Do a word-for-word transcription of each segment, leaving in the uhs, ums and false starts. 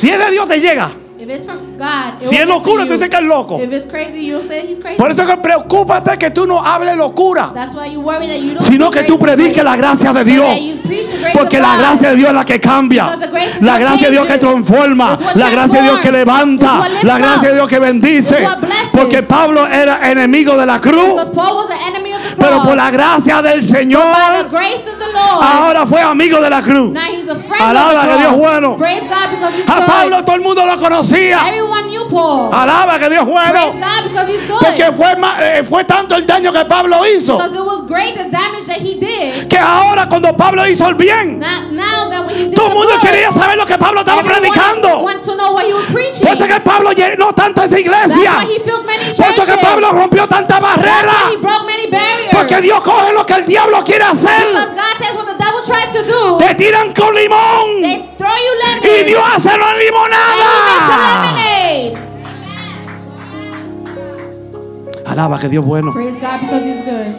Si es de Dios, te llega. If it's from God, it Si will es get locura, to tú you. dices que es loco. If it's crazy, you'll say he's crazy. Por eso es que preocúpate que tú no hables locura, That's why you worry that you don't sino speak que tú crazy, prediques but la gracia de that Dios. you preach the grace Porque of la God. gracia de Dios es la que cambia. Because the grace is La what gracia de Dios que changes. transforma. It's what La gracia de Dios que transforms. levanta. It's what lifts La gracia de up. Dios que bendice. It's what blesses. Porque Pablo era enemigo de la cruz, Because Paul was the enemy of the cross. pero por la gracia del But by the Señor, grace of the Lord, ahora fue amigo de la cruz. now he's a friend Alaba of the que Dios cross. es bueno. Praise God because he's A good. Pablo todo el mundo lo conocía. Everyone knew Paul. Alaba que Dios es bueno. Praise God because he's good. Porque fue, ma- eh, fue tanto el daño que Pablo hizo, Because it was great the damage that he did. que ahora cuando Pablo hizo el bien, Now, now that when he did todo el the mundo good, quería saber lo que Pablo estaba everyone predicando. want to know what he was preaching. Por eso que Pablo llenó tanta esa That's iglesia. why he filled many Por churches. eso que Pablo rompió tanta That's barrera. why he broke many barriers. Porque Dios coge lo que el diablo quiere hacer. Because God says what the devil tries to do, Te tiran con limón they throw you y lemons. Dios hace la And he makes limonada. a lemonade. Alaba que Dios es bueno. Praise God because he's good.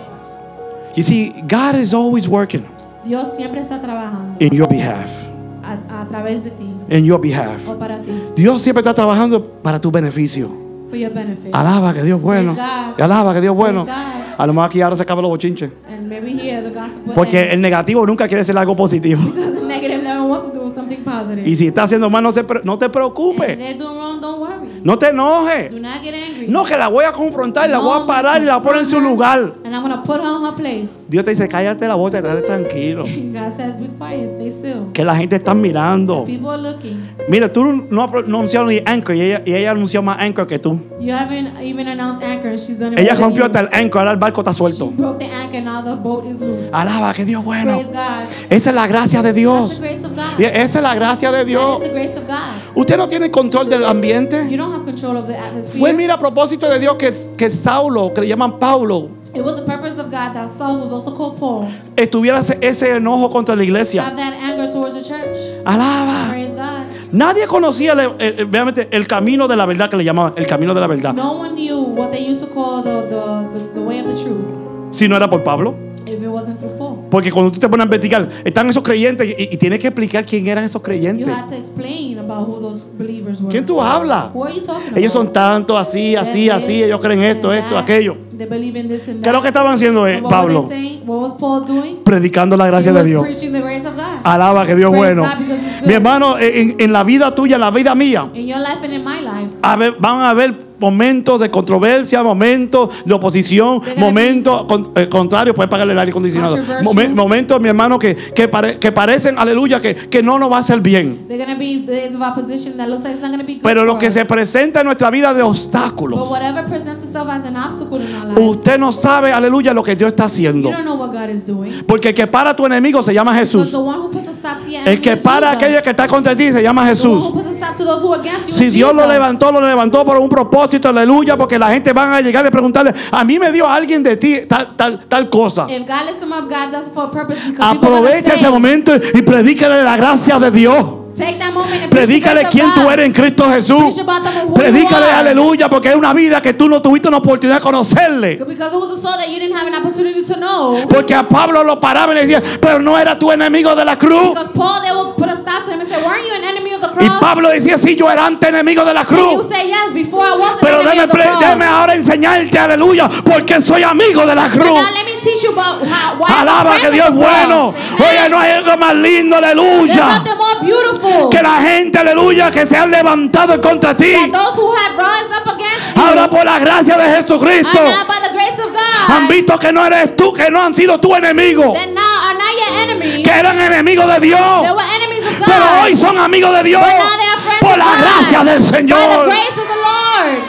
You see, God is always working Dios siempre está trabajando in your behalf. a, a través de ti In your behalf. o para ti, Dios siempre está trabajando para tu beneficio. for your benefit. Alaba que Dios es bueno. Praise God. Alaba que Dios es bueno. Praise God. A lo mejor aquí ahora se acaban los bochinches. And maybe here the gospel will Porque end. el negativo nunca quiere ser algo positivo. Because the negative never wants to do something positive. Y si está haciendo mal, no, se pre- no te And if preocupes. they're doing wrong, don't worry. No te enojes. Do not get angry. No, que la voy a confrontar, la voy a parar y la voy a poner en su lugar. And I'm going to put her on her place. Dios te dice, cállate la boca, estate tranquilo. And God says, be quiet, stay still. Que la gente está mirando. People are looking. Mira, tú no has pronunciado ni Anchor y ella, y ella anunció más Anchor que tú. You haven't even announced anchor and she's done it Ella more than rompió you. hasta el Anchor, ahora el barco está She suelto. broke the anchor, now the boat is loose. Alaba, que Dios es bueno. Praise God. Esa es la gracia de That's Dios. the grace of God. Y esa es la gracia de That Dios. is the grace of God. Usted no tiene control del ambiente. You don't have control of the atmosphere. Fue, mira, a propósito de Dios que, que Saulo, que le llaman Paulo, It was the purpose of God that Saul, who's also called Paul, estuviera ese, ese enojo contra la iglesia. have that anger towards the church. Alaba. Praise God. Nadie conocía el, el- el- obviamente, el camino de la verdad, que le llamaban el camino de la verdad. No one knew what they used to call the, the, the, the way of the truth Si no era por Pablo. if it wasn't through Paul. Porque cuando tú te pones a investigar, están esos creyentes y, y tienes que explicar quién eran esos You creyentes. had to explain about who those believers were. ¿Quién tú hablas? Who are you talking about? Ellos son tantos, así, así, They're así. this Ellos creen esto, and esto, that. aquello. They believe in this and ¿Qué es lo that. que estaban haciendo eh, And what Pablo? were they saying? What was Paul doing? Predicando la He gracia de was Dios. preaching the grace of God. Alaba que Dios es Praise bueno. God because he's good. Mi hermano, en, en la vida tuya, en la vida mía, In your life and in my life, a ver, van a haber momentos de controversia, momentos de oposición, They're gonna momentos con, eh, contrarios, pueden pagarle el aire acondicionado. Controversial. Momen- momentos, mi hermano, que, que, pare- que parecen, aleluya, que, que no nos va a hacer bien. they're going to be days of opposition that looks like it's not going to be good Pero lo for que us. se presenta en nuestra vida de But obstáculos, whatever presents itself as an obstacle in our lives, usted no sabe, aleluya, lo que Dios está you haciendo. don't know what God is doing. Porque el que para a tu enemigo se llama Because Jesús. the one who puts a stop to your El enemy que is para a Jesus. aquella que está contra ti se llama The one Jesús. who puts a stop to those who are against you Si is Dios lo Jesus. levantó, lo levantó por un propósito, aleluya, porque la gente van a llegar y preguntarle, a mí me dio alguien de ti tal, tal, tal cosa. If God lifts him up, God does it for a purpose because people are going Aprovecha to ese say, momento y predícale la gracia de Dios. take that moment and preach the Predícale grace of quién tú God. eres en Cristo Jesús. Preach about them who Predícale, you are. aleluya, porque es una vida que tú no tuviste una oportunidad de conocerle. Because it was a soul that you didn't have an opportunity to know. Porque a Pablo lo paraba y le decía, pero no era tu enemigo de la cruz. Because Paul, they will put a stop to him and say, weren't you an enemy of the Y cross? Pablo decía, sí, yo era antes enemigo de la And you cruz. say, yes, before I was an Pero enemy déme, of the pre- cross. déme ahora enseñarte, aleluya, porque soy amigo de la But cruz. now let me teach you about how, why I'm a Alaba friend que of Dios es the bueno. cross. Oye, Amen. no hay algo más lindo, There's aleluya. nothing more beautiful Que la gente, aleluya, que se han levantado contra ti. that those who had risen up against you Ahora por la gracia de Jesucristo are now by the grace of han God. visto que no eres tú, que no han sido tu enemigo, Then now are not your enemies. que eran enemigos de Dios. They were enemies of God. Pero hoy son amigos de Dios But now they are friends por of la God. gracia del By the Señor. grace of the Lord.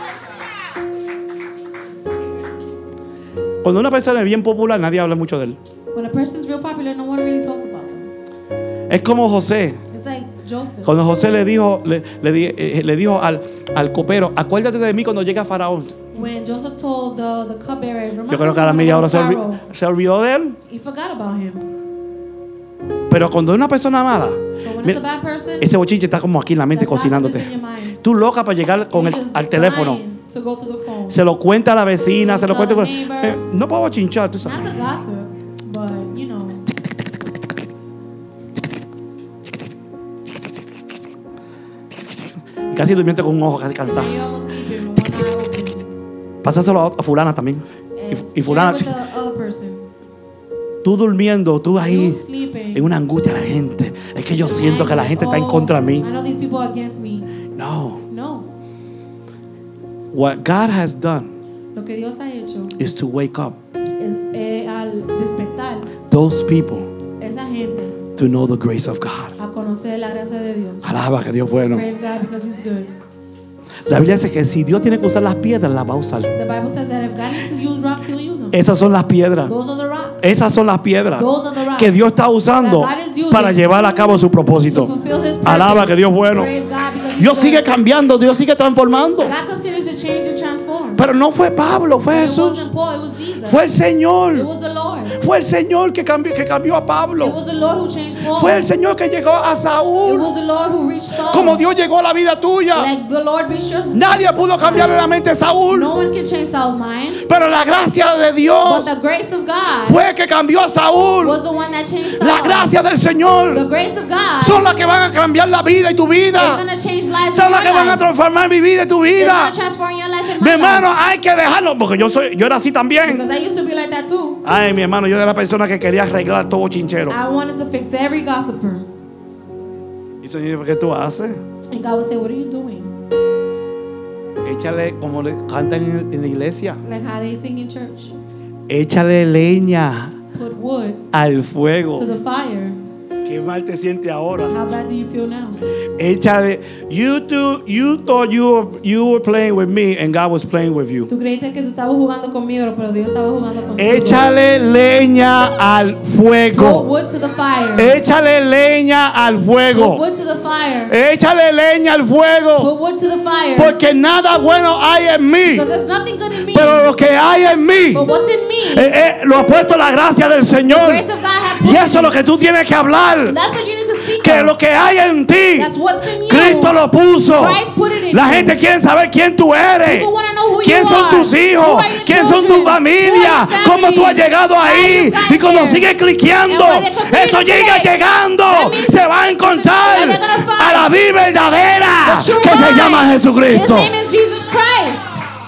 Cuando una persona es bien popular, nadie habla mucho de él. When a person's real popular, no one really talks about them. Es como José. It's like Joseph. Cuando José le dijo, le, le di- eh, le dijo al, al copero, acuérdate de mí cuando llegue a Faraón. When Joseph told the, the cupbearer, remember Yo creo que a la when media you hora were se, olvi- Pharaoh? se olvidó de él. He forgot about him. Pero cuando es una persona mala, But when mira, it's a bad person, ese bochinche está como aquí en la mente that gossip is in cocinándote. your mind. Tú loca para llegar con el, You're just al teléfono. dying to go to the phone. Se lo cuenta a la vecina, se lo Tell cuenta. the neighbor. Eh, no puedo chinchar, tú sabes. Not to gossip, but you know. Casi durmiendo con un ojo casi cansado. Now you're almost sleeping with one eye open. Pásaselo a, a fulana también. And Y, y fulana, share with the other person. tú durmiendo, tú ahí You sleeping. en una angustia la gente. Es que yo siento que la gente está en Oh, contra de mí. I know these people are against me. No. No. What God has done Lo que Dios ha hecho is to wake up es eh, al despertar those people esa gente to know the grace of God. a conocer la gracia de Dios. Alaba que Dios es bueno. Praise God because He's good. La Biblia dice que si Dios tiene que usar las piedras, las va a usar. The Bible says that if God needs to use rocks, He'll use them. Esas son las piedras. Those are the rocks. Esas son las piedras Those are the rocks que Dios está usando that God is using para llevar a cabo su to propósito. fulfill His purpose. Alaba que Dios es bueno. Praise God because He's Dios good. sigue cambiando, Dios sigue transformando. God continues to change and transform. Pero no fue Pablo, fue It Jesús. wasn't Paul, it was Jesus. Fue el It Señor. was the Lord. Fue el Señor que cambió, que cambió a It Pablo. was the Lord who changed Paul. Fue el Señor que llegó a It Saúl. was the Lord who reached Saul. Como Dios llegó a la vida tuya. Like the Lord reached your Nadie pudo cambiarle la mente a Saúl. No one can change Saul's mind. Pero la gracia de But Dios the grace of God fue que cambió a Saúl. was the one that changed Saul. La gracia del The Señor grace of God son las que van a cambiar la vida y tu is vida. going to change lives in Son your las que van a life. transformar mi vida y tu It's vida. going to transform your life and Mi my hermano, life. hay que dejarlo. Porque yo soy, yo era así también. Because I used to be like that too. Ay, mi hermano, yo era la persona que quería arreglar todo chinchero. I wanted to fix every gossiper. Y el Señor, ¿qué tú haces? And God would say, what are you doing? Échale, como le cantan en, en la iglesia, Like how they sing in church. échale leña Put wood al to fuego. the fire. Qué mal te sientes ahora. How bad do you feel now? Échale. You two, you thought you were, you were playing with me and God was playing with you. Tú creíste que tú estabas jugando conmigo, pero Dios estaba jugando contigo. Échale leña al Put fuego. wood to the fire. Échale leña al Put fuego. wood to the fire. Échale leña al fuego. Put wood to the fire. Porque nada bueno hay en mí. Because there's nothing good in me. Pero lo que hay en mí But what's in me? eh, eh, lo ha puesto la gracia del The Señor. grace of God has put Y eso es in lo me. que tú tienes que hablar. That's what you need to speak Que of. lo que hay en ti, That's what's in you. Cristo lo puso. Christ put it in La you. gente quiere saber quién tú eres. People want to know who ¿Quién you son are. tus hijos? Who are your ¿Quién son children? tu familia? Who are your ¿Cómo tú has family? llegado How ahí? you got Y cuando there. sigues cliqueando, And when they continue eso to llega click, llegando. that means Se va a encontrar they're gonna find a la vida verdadera the true que se vine. llama His Jesucristo. name is Jesus Christ.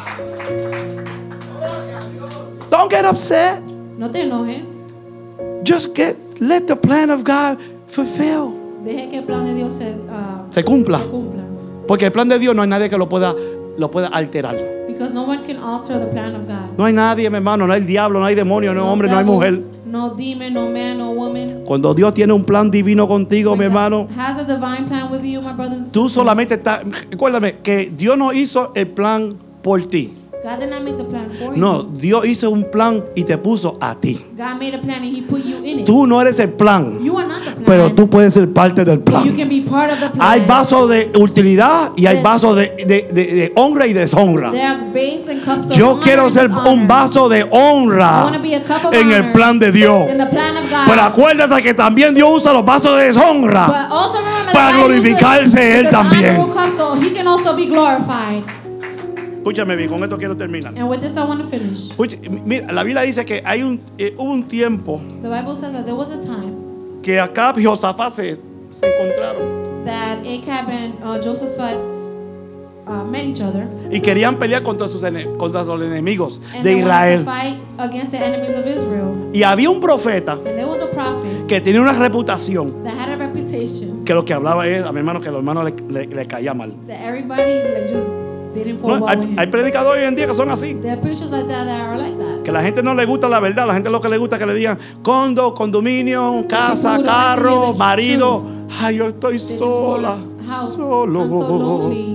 Don't get upset. No te enojes. Just get, let the plan of God fulfill. Deje que el plan de Dios se, uh, Se cumpla. se cumpla. Porque el plan de Dios no hay nadie que lo pueda, lo pueda alterar. Because no one can alter the plan of God. No hay nadie, mi hermano. No hay diablo, no hay demonio, no hay hombre, no hay devil, mujer. No demon, no man, no woman. Cuando Dios tiene un plan divino contigo, mi When hermano, God has a divine plan with you, my brothers and tú sisters. solamente estás. Recuérdame que Dios no hizo el plan por ti. God did not make the plan for No, you. Dios hizo un plan y te puso a ti. God made a plan and He put you in it. Tú no eres el plan, You are not the plan. pero tú puedes ser parte del You plan. can be part of the plan. Hay vasos de utilidad y hay Yes. vasos de, de- de- de honra y deshonra. There are vase and cups of Yo honor quiero and ser dishonor. un vaso de I honra want to be a cup of en el honor plan de Dios. in the plan of God. Pero acuérdate que también Dios usa los vasos de deshonra But also remember para that God uses glorificarse Él this también. honorable cup so He can also be glorified. Escúchame bien, con esto quiero terminar. And with this I want to finish. Escucha, mira, la Biblia dice que hay un, eh, hubo un tiempo The Bible says that there was a time que Acab y Josafat se, se encontraron that Ahab and uh, Josaphat uh, met each other. y querían pelear contra sus, ene- contra los enemigos And de they wanted Israel. to fight against the enemies of Israel. Y había un profeta And there was a prophet que tenía una reputación that had a reputation que lo que hablaba él, a mi hermano, que a los hermanos le, le- le caía mal. that everybody like just didn't fall No, well hay, with him. hay predicadores hoy en día que son así. There are preachers like that that are like that. Que la gente no le gusta la verdad, la gente lo que le gusta es que le digan condo, condominio, casa, People who don't like to hear carro, the marido. Ay, yo estoy They just sola, want a house. solo. I'm so lonely.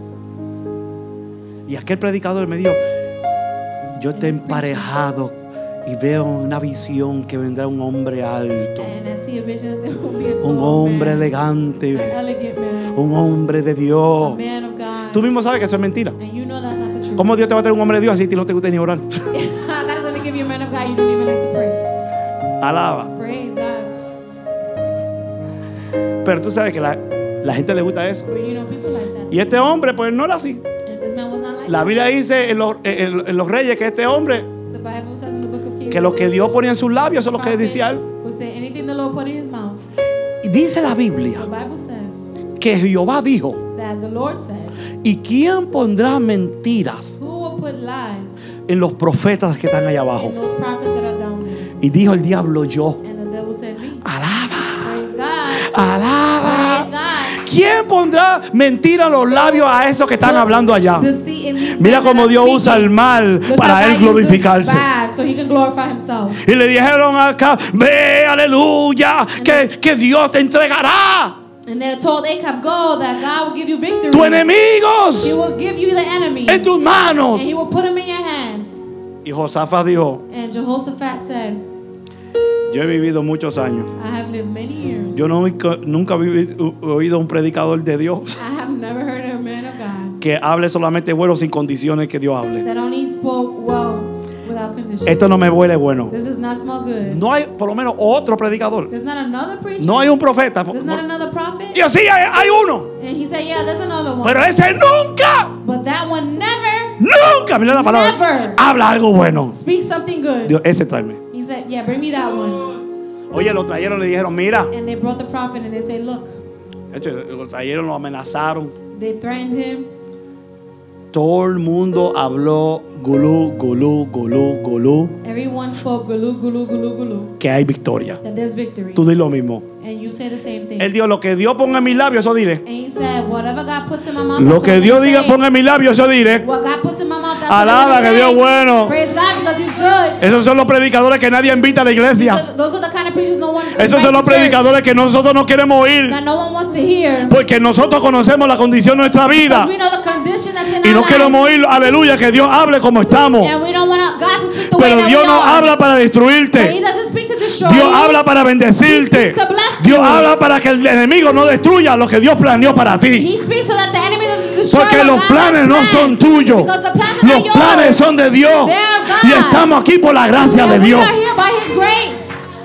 Y aquel predicador me dijo, yo te he emparejado y veo una visión que vendrá un hombre alto, And I see a vision that there will be a un tall hombre man, elegante, an elegant man, un hombre de a Dios. man of God. Tú mismo sabes que eso es mentira. And you know that's not the truth. ¿Cómo Dios te va a traer un hombre de Dios así a ti no te gusta ni orar? God is going to give you a man of God. You don't even like to pray. Alaba. Praise God. Pero tú sabes que la, la gente le gusta eso. But you know people like that. Y este hombre pues no era así. And this man was not like La that. Biblia dice en los, en- en los reyes que este hombre, The Bible says in the book of Kings que lo que Dios ponía en sus labios, eso es lo que prophet decía él. was there anything the Lord put in his mouth. Y dice la Biblia The Bible says que Jehová dijo, that the Lord said, ¿y quién pondrá mentiras who will put lies en los profetas que están allá abajo? in those prophets that are down there? Y dijo el diablo, yo. And the devil said, me. Alaba, Praise God. alaba. Praise God. ¿Quién pondrá mentira a los labios a esos que están hablando allá? Deceit in these Mira men that cómo are Dios speaking. usa el mal Look para how él God uses glorificarse. bad so he can glorify himself. Y le dijeron acá, ve, aleluya, que, que Dios te entregará And they told Ahab, go, that God will give you victory. tus enemigos He will give you the enemies. en tus manos. And he will put them in your hands. Y Josafat dijo, And Jehoshaphat said, yo he vivido muchos años. I have lived many years. Yo nunca, nunca he oído un predicador de Dios I have never heard a man of God que hable solamente bueno sin condiciones que Dios hable. that only spoke well without conditions. Esto no me huele bueno. This does not smell good. No hay por lo menos otro predicador. There's not another preacher. No hay un profeta. There's not another prophet. Y así hay, hay uno. And he said, yeah, there's another one. Pero ese nunca, But that one never nunca, mira la palabra, Never. habla algo bueno. speaks something good. Dios, ese tráeme. He said, yeah, bring me that one. Oye, lo trajeron, le dijeron, mira. And they brought the prophet and they said, look, De hecho, lo trajeron, lo amenazaron. they threatened him. Todo el mundo habló gulú, gulú, gulú, gulú, Everyone spoke gulu, gulu, gulu, gulu, que hay victoria. that there's victory. Tú di lo mismo. And you say the same thing. Él dijo, lo que Dios ponga en mis labios, eso diré. And he said, whatever God puts in my mouth, Lo that's que what I'm Dios gonna diga say. ponga en mis labios, eso diré. What God puts in my mouth, that's Alaba what I'm que gonna Dios say. es bueno. Praise God because He's good. Esos son los predicadores que nadie invita a la iglesia. So those are the kind of preachers no one Esos son los invites to church, predicadores que nosotros no queremos oír. that no one wants to hear. Porque nosotros conocemos la condición de nuestra vida. Because we know the condition that's in Y no our queremos life. oír, aleluya, que Dios hable como estamos. And we don't want God to speak the way Pero that Dios we no are. habla para But He destruirte. doesn't speak to destroy Dios you. habla para bendecirte. He speaks to bless Dios you. habla para que el enemigo no destruya lo que Dios planeó para ti. He speaks so that the enemy doesn't destroy Porque what los God planes has no planned. son tuyos. Because the plans are Los not yours. planes son de Dios. They are God. Y estamos aquí por la gracia And de we Dios. are here by His grace.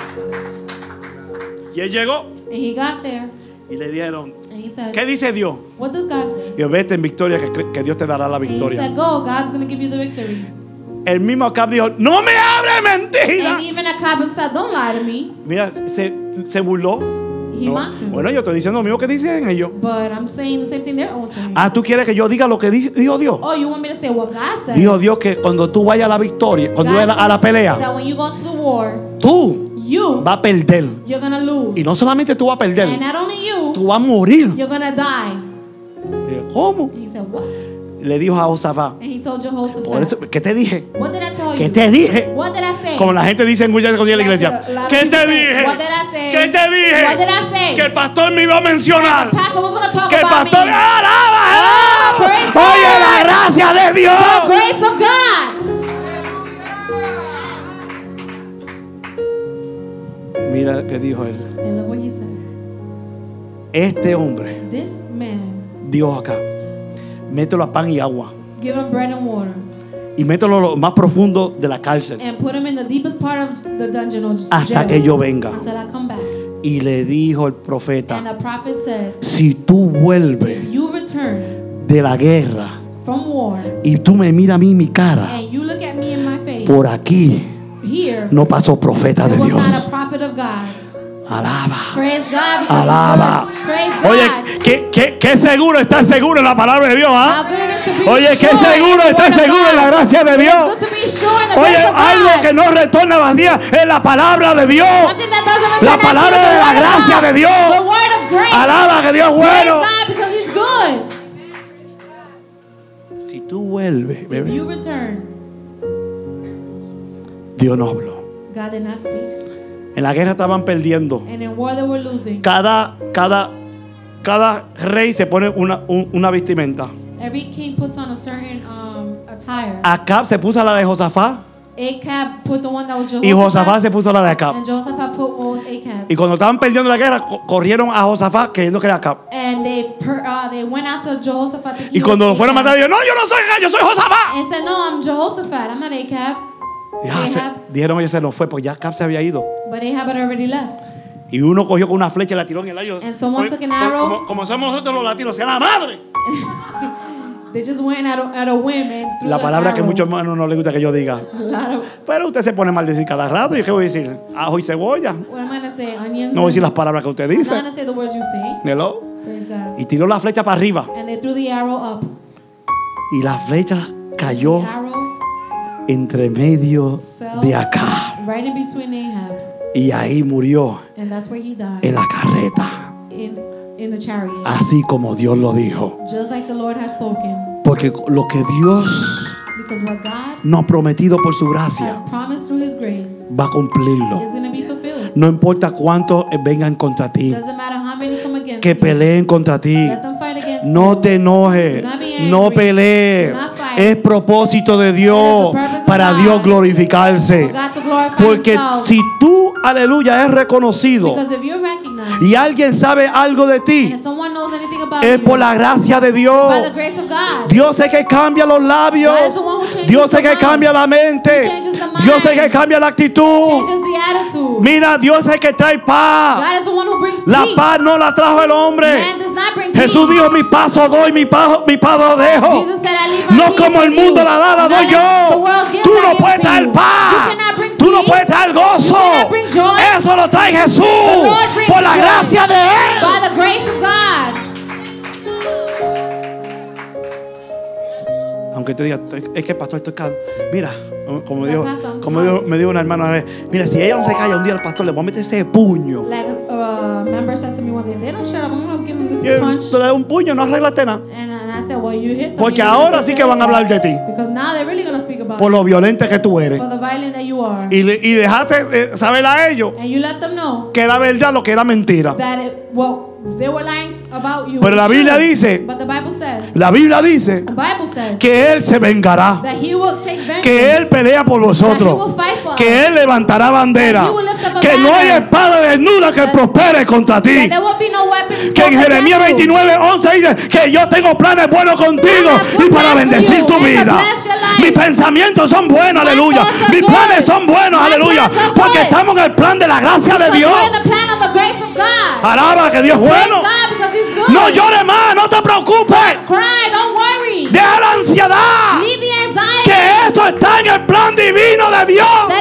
Y él llegó And he got there y le dieron, and he said, ¿qué dice Dios? what does God say? Y vete en victoria, que, cre- que Dios te dará la And he victoria. said, go, God's going to give you the victory. El mismo Acab dijo, no me hable mentira. And even Ahab said, don't lie to me. Mira, se, se burló. He No. mocked him. Bueno, yo estoy diciendo lo mismo que dicen ellos. But I'm saying the same thing they're all saying. Ah, ¿tú quieres que yo diga lo que di- dijo Dios? Oh, you want me to say what God said? Dijo Dios que cuando tú vayas a la victoria, cuando tú God vayas a la says pelea, that when you go to the war, tú you, vas a perder. you're going to lose. Y no solamente tú vas a And perder, not only you, tú vas a morir. you're going to die. Y yo, ¿cómo? And he said, what? Le dijo a Josafat, And he told por Jehoshaphat, eso, ¿qué te dije? what did I tell ¿Qué you? te dije? What did I say? Como la gente dice en muchas cosas de la iglesia. That's what a lot of ¿Qué people te say. dije? What did I say? ¿Qué te dije? What did I say? Que el pastor me iba a mencionar. The pastor was going to talk Que el about pastor me. alaba, alaba. praise Oye, God. la gracia de The Dios. grace of God. Mira qué dijo él. And look what he said. Este hombre, This man, Dios acá, mételo a pan y agua. give him bread and water. Y mételo a lo más profundo de la cárcel. And put him in the deepest part of the dungeon or Hasta jail. que yo venga. Until I come back. Y le dijo el profeta, And the prophet said, si tú vuelves if you return de la guerra from war y tú me miras a mí mi cara, and you look at me in my face, por aquí here, no pasó profeta de was not Dios. a prophet of God. Alaba. Praise God because Alaba. He's good. Praise God. Oye, qué, qué, qué seguro estar seguro en la palabra de Dios, ¿ah? How good it is to be Oye, qué sure seguro in the estar word of seguro en la God. gracia de It's Dios. good to be sure in the Oye, grace of algo God. que no retorna vacía es la palabra de Dios. Something that doesn't return La empty palabra is the de la word of gracia God. de Dios. The word of grace. Alaba que Dios es Praise bueno. God because He's good. Si tú vuelves, If bebé, you return, Dios no habló. God did not speak. En la guerra estaban perdiendo. And in war they were losing. Cada, cada, cada rey se pone una, un- una vestimenta. Every king puts on a certain um, attire. Acab se puso la de Josafat Acab put the one that was y Josafat Jehoshaphat. se puso la de Acab. And Jehoshaphat put what was Acab. Y cuando estaban perdiendo la guerra, co- corrieron a Josafat creyendo que era Acab. And they per, uh, they went after Jehoshaphat. thinking Y he cuando lo was fueron a Acab. matar, dijo, no, yo no soy Acab, yo soy Josafat. And said, no, I'm Jehoshaphat. I'm not Acab. Y ya se- Ahab. dijeron ellos se nos fue, pues ya Acab se había ido. But Ahab had already left. Y uno cogió con una flecha y la tiró en el aire. And someone Como- took an arrow. Como, como somos nosotros los latinos, sea la madre. They just went at a, at a whim and threw La the palabra que arrow. muchos hermanos no les gusta que yo diga. A lot of, Pero usted se pone mal decir cada rato. ¿Y qué voy a decir? Ajo y cebolla. what am I going to say? Onions? No voy a decir and- las palabras que usted I'm dice. not going to say the words you say. Hello. Praise God. Y tiró la flecha para arriba. And they threw the arrow up. Y la flecha cayó The arrow entre medio fell de acá. right in between Ahab. Y ahí murió And that's where he died. en la carreta. In, in the chariot. Así como Dios lo dijo. Just like the Lord has spoken. Porque lo que Dios Because what God nos ha prometido por su has gracia promised through His grace va a cumplirlo. is going to be fulfilled. No importa cuántos vengan contra ti, Doesn't matter how many come against que you. peleen contra ti. Let them fight against No you. te enojes, Do not be angry. no pelees. Do not fight. Es propósito de Dios It is the purpose of para God. Dios glorificarse. For God to glorify Porque Himself. si tú, aleluya, es reconocido Because if you're recognized y alguien sabe algo de and ti, if someone knows anything about es you, por la gracia de Dios. by the grace of God. Dios es que cambia los labios. God is the one who changes Dios the es que mind. cambia la mente. He changes the mind. Dios es que cambia la actitud. Changes the attitude. Mira, Dios es el que trae paz. God is the one who brings La peace. paz no la trajo el hombre. Man does not bring Jesús peace. dijo, mi paso doy, mi paso, mi paz lo dejo. Jesus said, I leave my No peace como el with mundo you. la da, la Not doy like the yo. world gives, Tú I no give puedes to traer you. paz. You cannot bring Tú no peace. puedes traer gozo. You cannot bring joy. Eso lo trae Jesús Lord brings por la joy. gracia de Él. By the grace of God. Aunque te diga, es que pastor, estoy calmo. Mira, como, So, dijo, pastor, I'm como tired. dijo- me dijo una hermana una vez, mira, si ella no se calla un día al pastor, le voy a meter ese puño. Like a uh, member said to me one day, they don't shut up. I'm going to give them this Y él, punch. tú le das un puño, no arreglaste nada. And, and I said, well, you hit them. Porque You ahora hit sí them. que van a hablar de ti. Because now they're really going to speak about Por lo violenta que tú eres. for the violent that you are. Y, le- y dejaste eh, saber a ellos And you let them know que era verdad lo que era mentira. that it, well, they were lying about you. Pero la It's Biblia true. dice, But the Bible says, la Biblia dice the Bible says que Él se vengará, that He will take vengeance. que Él pelea por that He will vosotros, fight for us. que Él levantará bandera, That he will lift up a que no hay banner. espada desnuda que That- prospere contra ti. That there will be no weapon Que en formed Jeremías against you. veintinueve once dice que yo tengo planes buenos contigo I have good y para plans for bendecir you tu and to vida. bless your life. Mis pensamientos son buenos, My aleluya. thoughts are Mis good. planes son buenos, My aleluya. plans are Porque good. estamos en el plan de la gracia de Because Dios. we're in the plan of the grace of God. Alaba que Dios es Praise bueno. God because He's good. No llores más, no te preocupes. Cry, don't worry. Deja la ansiedad. Leave the anxiety. Que eso está en el plan divino de Dios.